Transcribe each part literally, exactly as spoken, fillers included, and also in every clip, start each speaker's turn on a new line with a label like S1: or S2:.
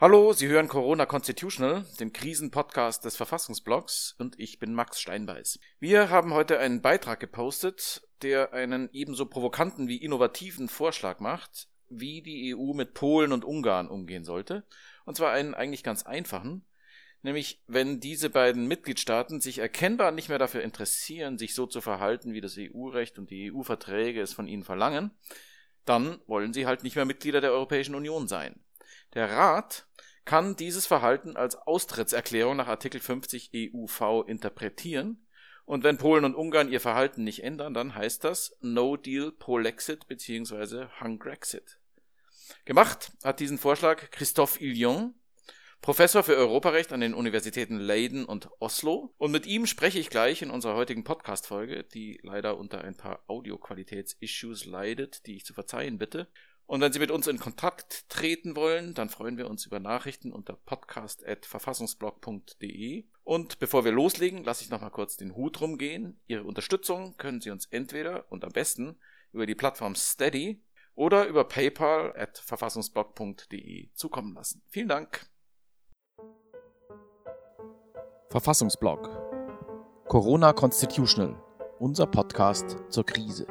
S1: Hallo, Sie hören Corona Constitutional, den Krisenpodcast des Verfassungsblogs, und ich bin Max Steinbeiß. Wir haben heute einen Beitrag gepostet, der einen ebenso provokanten wie innovativen Vorschlag macht, wie die E U mit Polen und Ungarn umgehen sollte, und zwar einen eigentlich ganz einfachen, nämlich wenn diese beiden Mitgliedstaaten sich erkennbar nicht mehr dafür interessieren, sich so zu verhalten, wie das E U-Recht und die E U-Verträge es von ihnen verlangen, dann wollen sie halt nicht mehr Mitglieder der Europäischen Union sein. Der Rat kann dieses Verhalten als Austrittserklärung nach Artikel fünfzig E U V interpretieren, und wenn Polen und Ungarn ihr Verhalten nicht ändern, dann heißt das No Deal Polexit bzw. Hungrexit. Gemacht hat diesen Vorschlag Christophe Illion, Professor für Europarecht an den Universitäten Leiden und Oslo, und mit ihm spreche ich gleich in unserer heutigen Podcast-Folge, die leider unter ein paar Audioqualitäts-Issues leidet, die ich zu verzeihen bitte. Und wenn Sie mit uns in Kontakt treten wollen, dann freuen wir uns über Nachrichten unter podcast at verfassungsblog punkt de. Und bevor wir loslegen, lasse ich noch mal kurz den Hut rumgehen. Ihre Unterstützung können Sie uns entweder und am besten über die Plattform Steady oder über paypal at verfassungsblog punkt de zukommen lassen. Vielen Dank. Verfassungsblog Corona Constitutional, unser Podcast zur Krise.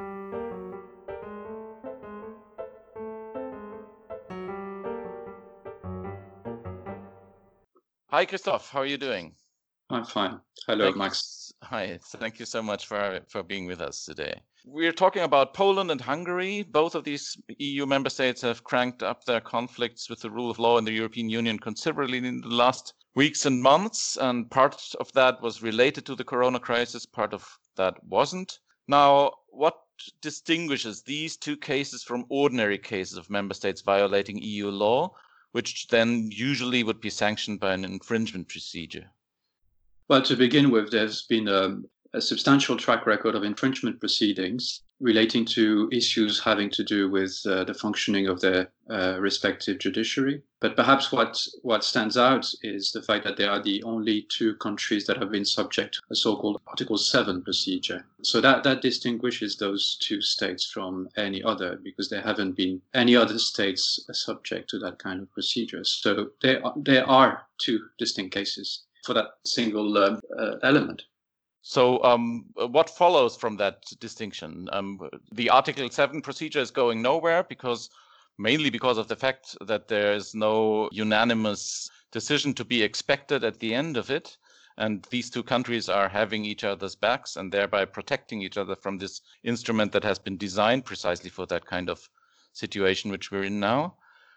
S1: Hi, Christoph. How are you doing?
S2: I'm fine. Hello,
S1: Thank
S2: Max.
S1: You, hi. Thank you so much for, for being with us today. We're talking about Poland and Hungary. Both of these E U member states have cranked up their conflicts with the rule of law in the European Union considerably in the last weeks and months, and part of that was related to the corona crisis, part of that wasn't. Now, what distinguishes these two cases from ordinary cases of member states violating E U law, which then usually would be sanctioned by an infringement procedure?
S2: Well, to begin with, there's been a, a substantial track record of infringement proceedings relating to issues having to do with uh, the functioning of their uh, respective judiciary. But perhaps what, what stands out is the fact that they are the only two countries that have been subject to a so-called Article seven procedure. So that, that distinguishes those two states from any other, because there haven't been any other states subject to that kind of procedure. So there are, there are two distinct cases for that single uh, uh, element.
S1: So um, what follows from that distinction? Um, the Article seven procedure is going nowhere because mainly because of the fact that there is no unanimous decision to be expected at the end of it. And these two countries are having each other's backs and thereby protecting each other from this instrument that has been designed precisely for that kind of situation which we're in now.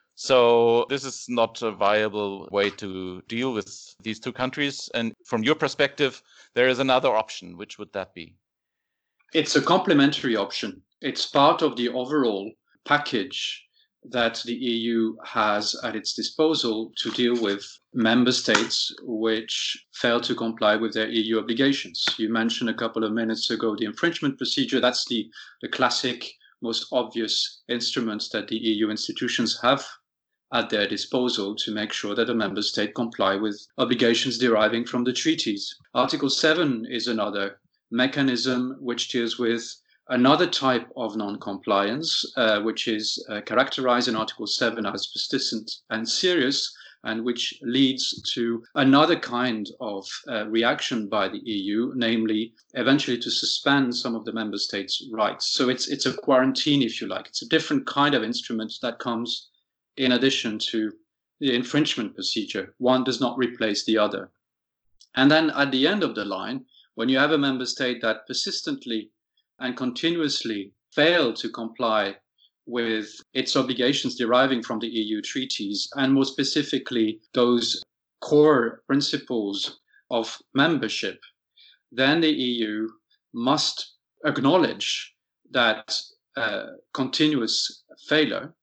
S1: So this is not a viable way to deal with these two countries. And from your perspective, there is another option. Which would that be?
S2: It's a complementary option. It's part of the overall package that the E U has at its disposal to deal with member states which fail to comply with their E U obligations. You mentioned a couple of minutes ago the infringement procedure. That's the, the classic, most obvious instruments that the E U institutions have at their disposal to make sure that a member state comply with obligations deriving from the treaties. Article seven is another mechanism which deals with another type of non-compliance, uh, which is uh, characterized in Article seven as persistent and serious, and which leads to another kind of uh, reaction by the E U, namely eventually to suspend some of the member states' rights. So it's it's a quarantine, if you like. It's a different kind of instrument that comes in addition to the infringement procedure. One does not replace the other. And then at the end of the line, when you have a member state that persistently and continuously fail to comply with its obligations deriving from the E U treaties, and more specifically those core principles of membership, then the E U must acknowledge that uh, continuous failure,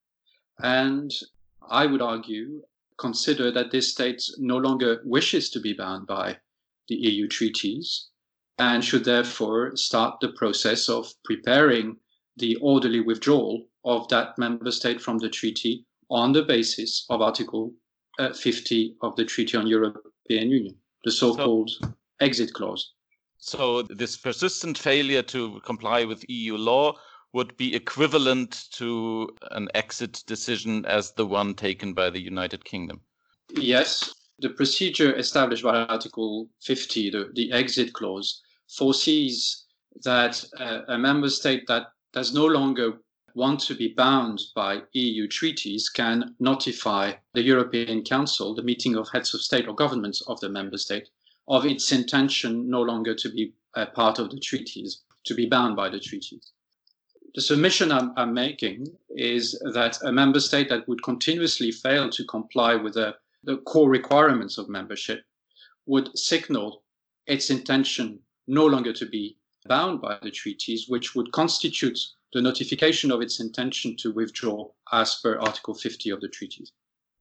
S2: and I would argue, consider that this state no longer wishes to be bound by the E U treaties and should therefore start the process of preparing the orderly withdrawal of that member state from the treaty on the basis of Article uh, fifty of the Treaty on European Union, the so-called so, exit clause.
S1: So this persistent failure to comply with E U law would be equivalent to an exit decision as the one taken by the United Kingdom.
S2: Yes, the procedure established by Article fifty, the, the exit clause, foresees that uh, a member state that does no longer want to be bound by E U treaties can notify the European Council, the meeting of heads of state or governments of the member state, of its intention no longer to be a part of the treaties, to be bound by the treaties. The submission I'm, I'm making is that a member state that would continuously fail to comply with the, the core requirements of membership would signal its intention no longer to be bound by the treaties, which would constitute the notification of its intention to withdraw as per Article fifty of the treaties.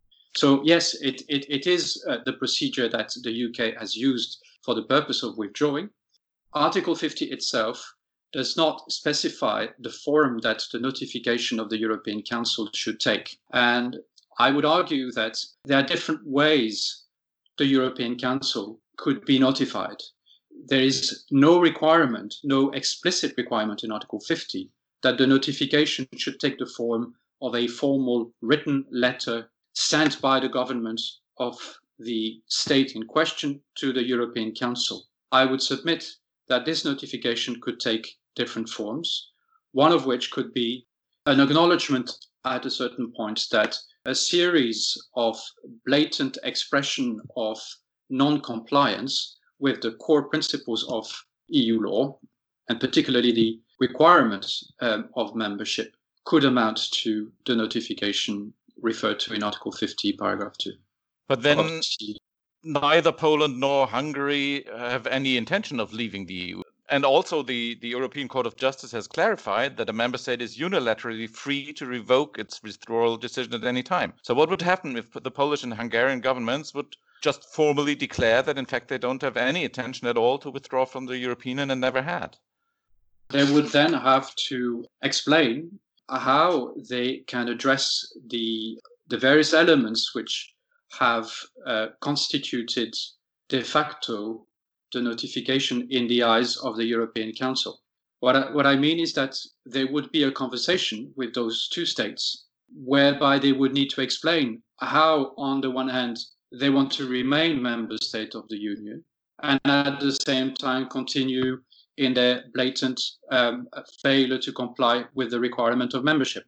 S2: So yes, it, it, it is uh, the procedure that the U K has used for the purpose of withdrawing. Article fifty itself does not specify the form that the notification of the European Council should take. And I would argue that there are different ways the European Council could be notified. There is no requirement, no explicit requirement in Article fifty that the notification should take the form of a formal written letter sent by the government of the state in question to the European Council. I would submit that this notification could take different forms, one of which could be an acknowledgement at a certain point that a series of blatant expression of non-compliance with the core principles of E U law, and particularly the requirements um, of membership, could amount to the notification referred to in Article fifty, paragraph two.
S1: But then neither Poland nor Hungary have any intention of leaving the E U. And also the, the European Court of Justice has clarified that a member state is unilaterally free to revoke its withdrawal decision at any time. So what would happen if the Polish and Hungarian governments would just formally declare that in fact they don't have any intention at all to withdraw from the European Union and never had?
S2: They would then have to explain how they can address the, the various elements which have uh, constituted de facto the notification in the eyes of the European Council. What I, what I mean is that there would be a conversation with those two states whereby they would need to explain how, on the one hand, they want to remain member state of the Union and at the same time continue in their blatant um, failure to comply with the requirement of membership.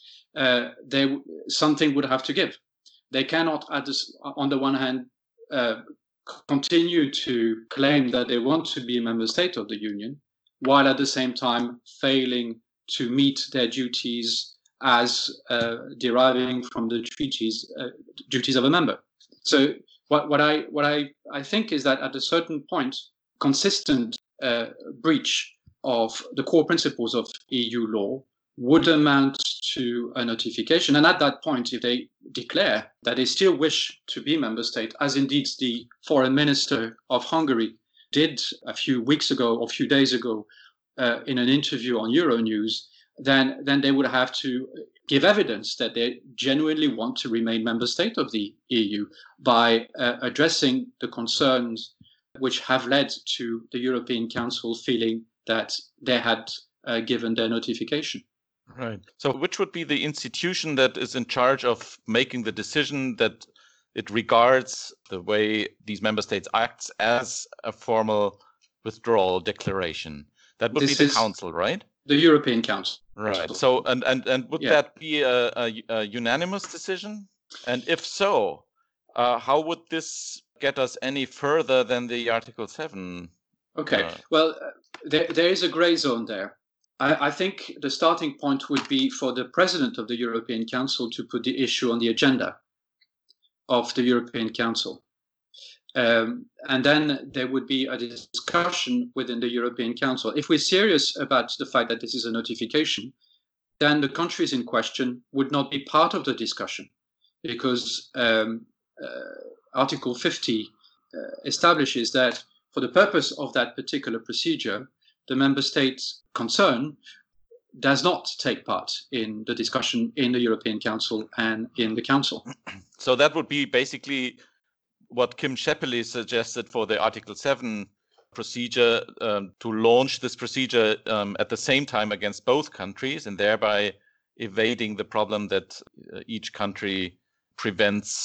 S2: Uh, they, something would have to give. They cannot, at this, on the one hand, uh, continue to claim that they want to be a member state of the Union, while at the same time failing to meet their duties as uh, deriving from the treaties, uh, duties of a member. So what, what I what I, I think is that at a certain point, consistent uh, breach of the core principles of E U law would amount to a notification. And at that point, if they declare that they still wish to be member state, as indeed the foreign minister of Hungary did a few weeks ago or a few days ago uh, in an interview on Euronews, then, then they would have to give evidence that they genuinely want to remain member state of the E U by uh, addressing the concerns which have led to the European Council feeling that they had uh, given their notification.
S1: Right. So which would be the institution that is in charge of making the decision that it regards the way these member states act as a formal withdrawal declaration? That would
S2: This
S1: be the
S2: is
S1: council, right?
S2: the European Council.
S1: Right. So, and, and, and would
S2: Yeah.
S1: that be a, a, a unanimous decision? And if so, uh, how would this get us any further than the Article seven?
S2: Okay.
S1: Uh,
S2: Well, uh, there, there is a gray zone there. I, I think the starting point would be for the President of the European Council to put the issue on the agenda of the European Council. Um, and then there would be a discussion within the European Council. If we're serious about the fact that this is a notification, then the countries in question would not be part of the discussion, because um, uh, Article fifty uh, establishes that for the purpose of that particular procedure, the member state concerned does not take part in the discussion in the European Council and in the Council.
S1: So that would be basically what Kim Schepeli suggested for the Article seven procedure, um, to launch this procedure um, at the same time against both countries, and thereby evading the problem that uh, each country prevents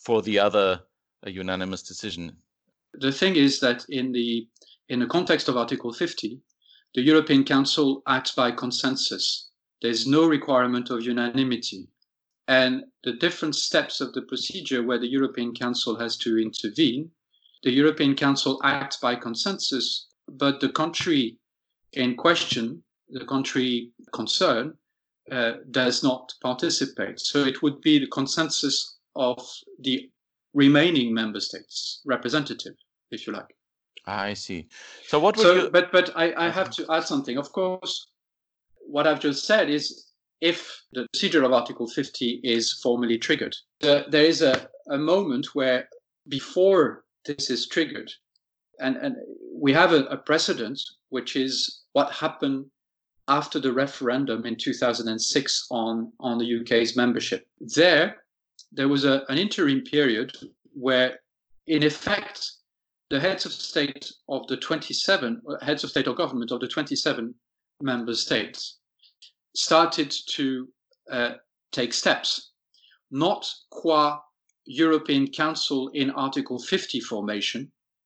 S3: for the other a unanimous decision?
S2: The thing is that in the in the context of Article fifty, the European Council acts by consensus. There's no requirement of unanimity. And the different steps of the procedure where the European Council has to intervene, the European Council acts by consensus, but the country in question, the country concerned, uh, does not participate. So it would be the consensus of the remaining member states representative, if you like.
S3: I see. So what would
S2: so,
S3: you...
S2: But, but I, I have to add something. Of course, what I've just said is if the procedure of Article fifty is formally triggered, uh, there is a, a moment where before this is triggered, and, and we have a, a precedent, which is what happened after the referendum in two thousand six on, on the U K's membership. There, there was a, an interim period where, in effect, the heads of state of the twenty-seven, heads of state or government of the twenty-seven member states started to uh, take steps, not qua European Council in Article fifty formation,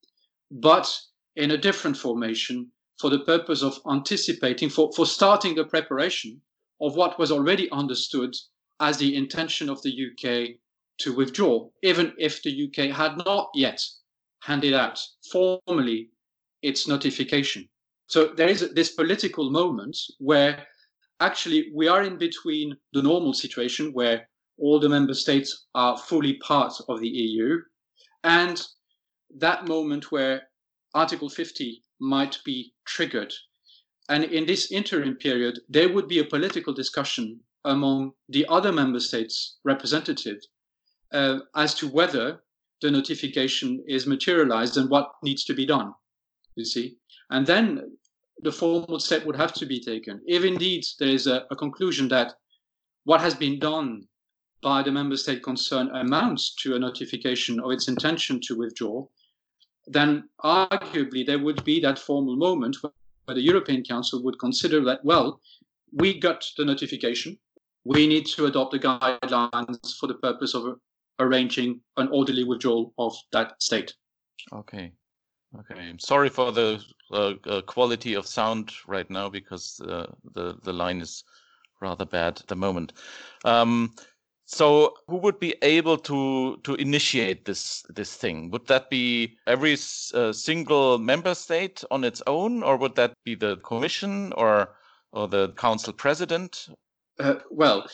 S2: but in a different formation for the purpose of anticipating, for, for starting the preparation of what was already understood as the intention of the U K to withdraw, even if the U K had not yet handed out formally its notification. So there is this political moment where actually we are in between the normal situation where all the member states are fully part of the E U and that moment where Article fifty might be triggered. And in this interim period, there would be a political discussion among the other member states' representatives uh, as to whether the notification is materialized and what needs to be done, you see. And then the formal step would have to be taken. If indeed there is a, a conclusion that what has been done by the member state concerned amounts to a notification of its intention to withdraw, then arguably there would be that formal moment where the European Council would consider that, well, we got the notification, we need to adopt the guidelines for the purpose of arranging an orderly withdrawal of that state.
S3: Okay. Okay. I'm sorry for the uh, uh, quality of sound right now because uh, the the line is rather bad at the moment. Um, so, who would be able to to initiate this this thing? Would that be every uh, single member state on its own, or would that be the Commission or or the Council President?
S2: Uh, well,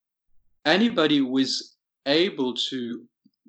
S2: anybody who is able to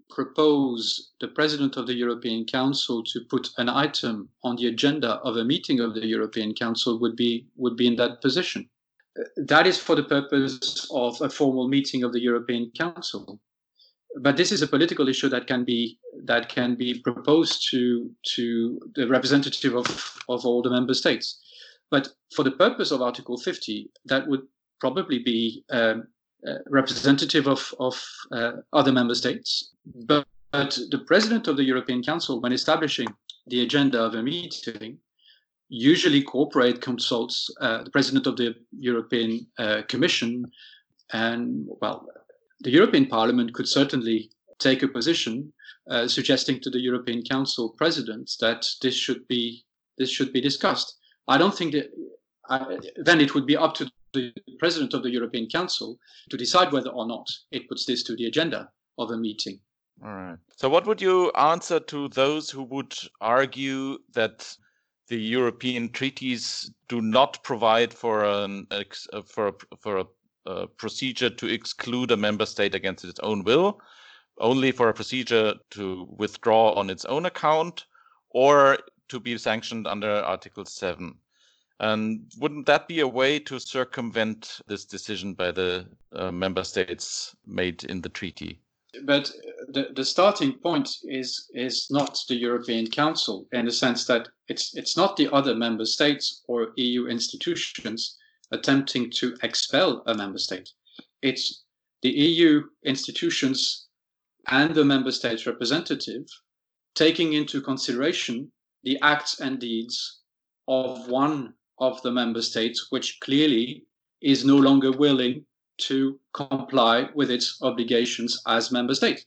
S2: propose the President of the European Council to put an item on the agenda of a meeting of the European Council would be would be in that position. That is for the purpose of a formal meeting of the European Council. But this is a political issue that can be that can be proposed to to the representative of, of all the member states. But for the purpose of Article fifty, that would probably be um, uh, representative of, of uh, other member states. But, but the President of the European Council, when establishing the agenda of a meeting, usually cooperate, consults uh, the President of the European uh, Commission, and, well, the European Parliament could certainly take a position uh, suggesting to the European Council President that this should be this should be discussed. I don't think that uh, then it would be up to the President of the European Council to decide whether or not it puts this to the agenda of a meeting.
S3: All right. So what would you answer to those who would argue that the European treaties do not provide for an for a, for a, a procedure to exclude a member state against its own will, only for a procedure to withdraw on its own account, or to be sanctioned under Article seven? And wouldn't that be a way to circumvent this decision by the uh, member states made in the treaty?
S2: But the, the starting point is is not the European Council, in the sense that it's it's not the other member states or E U institutions attempting to expel a member state. It's the E U institutions and the member states representative taking into consideration the acts and deeds of one of the member states, which clearly is no longer willing to comply with its obligations as member state.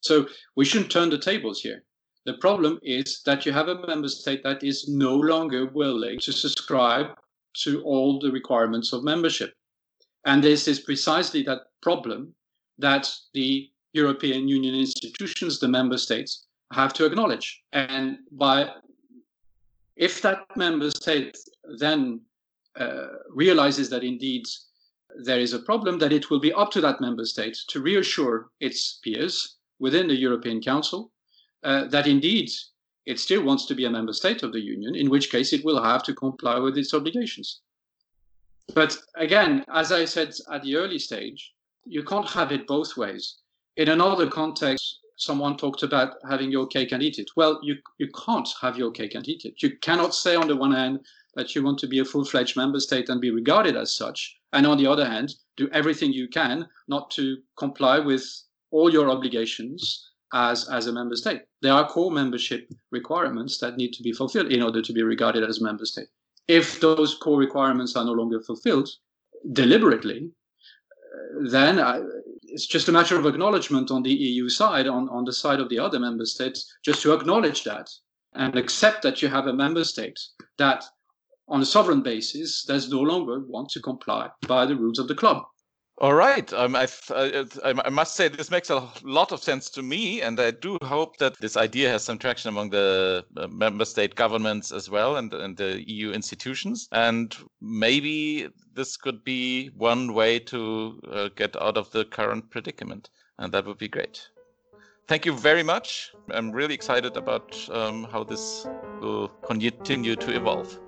S2: So we shouldn't turn the tables here. The problem is that you have a member state that is no longer willing to subscribe to all the requirements of membership. And this is precisely that problem that the European Union institutions, the member states, have to acknowledge. And by if that member state then uh, realizes that indeed there is a problem, that it will be up to that member state to reassure its peers within the European Council uh, that indeed it still wants to be a member state of the Union, in which case it will have to comply with its obligations. But again, as I said at the early stage, you can't have it both ways. In another context, someone talked about having your cake and eat it. Well, you, you can't have your cake and eat it. You cannot say on the one hand that you want to be a full-fledged member state and be regarded as such, and on the other hand, do everything you can not to comply with all your obligations as, as a member state. There are core membership requirements that need to be fulfilled in order to be regarded as a member state. If those core requirements are no longer fulfilled deliberately, then I, it's just a matter of acknowledgement on the E U side, on, on the side of the other member states, just to acknowledge that and accept that you have a member state that, on a sovereign basis, does no longer want to comply by the rules of the club.
S3: All right. Um, I, I, I must say this makes a lot of sense to me, and I do hope that this idea has some traction among the uh, member state governments as well, and, and the E U institutions. And maybe this could be one way to uh, get out of the current predicament, and that would be great. Thank you very much. I'm really excited about um, how this will continue to evolve.